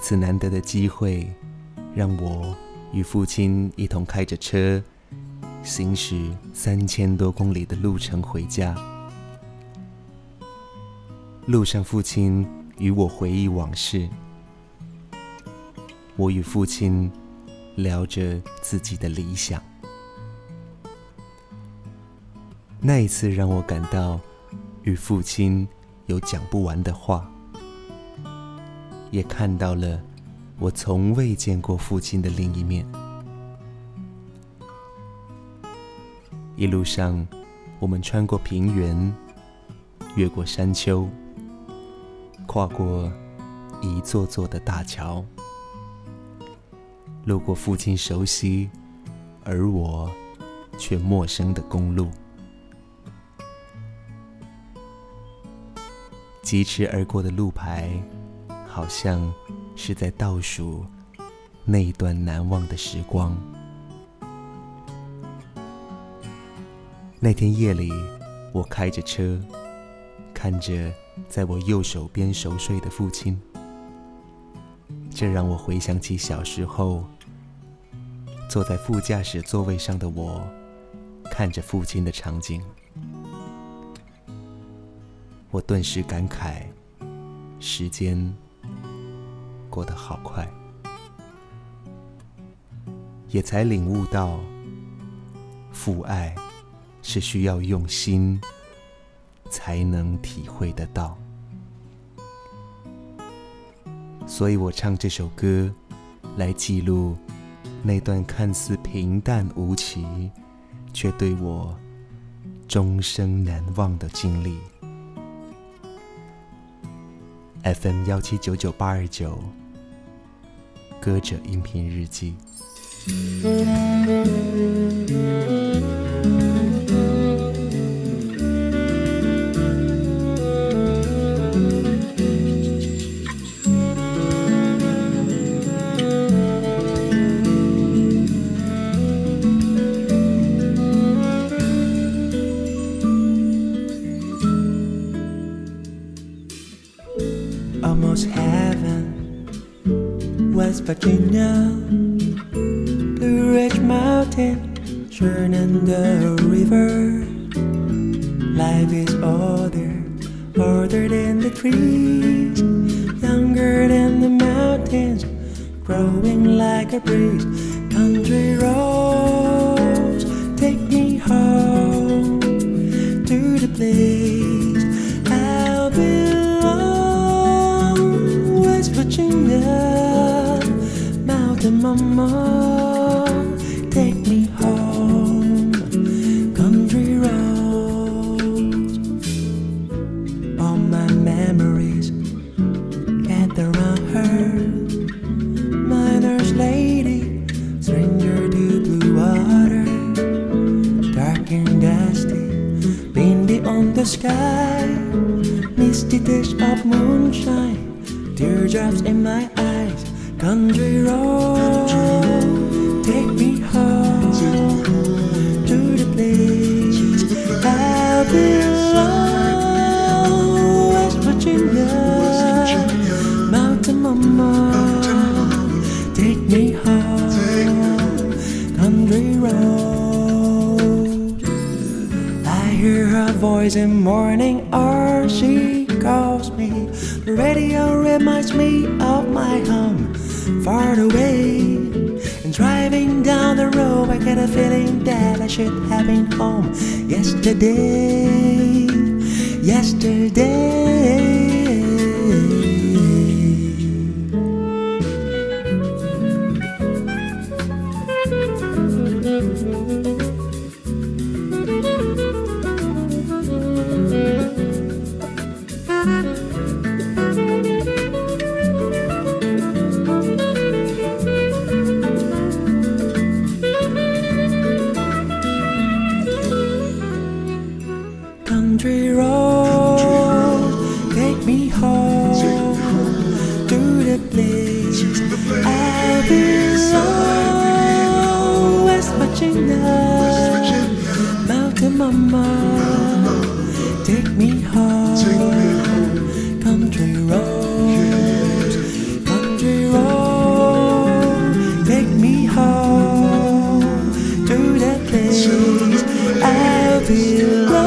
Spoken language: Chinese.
次难得的机会，让我与父亲一同开着车，行驶3000多公里的路程回家。路上，父亲与我回忆往事，我与父亲聊着自己的理想。那一次让我感到与父亲有讲不完的话，也看到了我从未见过父亲的另一面。一路上，我们穿过平原，越过山丘，跨过一座座的大桥，路过父亲熟悉而我却陌生的公路。疾驰而过的路牌，好像是在倒数那一段难忘的时光。那天夜里，我开着车，看着在我右手边熟睡的父亲，这让我回想起小时候，坐在副驾驶座位上的我，看着父亲的场景。我顿时感慨，时间过得好快，也才领悟到，父爱是需要用心才能体会得到。所以我唱这首歌，来记录那段看似平淡无奇，却对我终生难忘的经历。FM 1799829，歌者音频日记。 Almost heaven, West Virginia, Blue Ridge Mountain, Shenandoah River. Life is older, older than the trees, younger than the mountains, growing like a breeze. Country roads, take me home to the place I'll belong. West Virginia, Mountain Mama, take me home. Country roads, all my memories gather around her. Miner's lady, stranger to blue water, dark and dusty, windy on the sky, misty dish of moonshine, teardrops in my eyes. Country road, take me home to the place I belong. West Virginia, Mountain Mama, take me home. Country road, I hear her voice in morning or she calls me. The radio reminds me of my home, far away. And driving down the road, I get a feeling that I should have been home yesterday, yesterday. Country road, take me home to the place I belong. West Virginia, Mountain Mama, take me home. Country road, country road. feel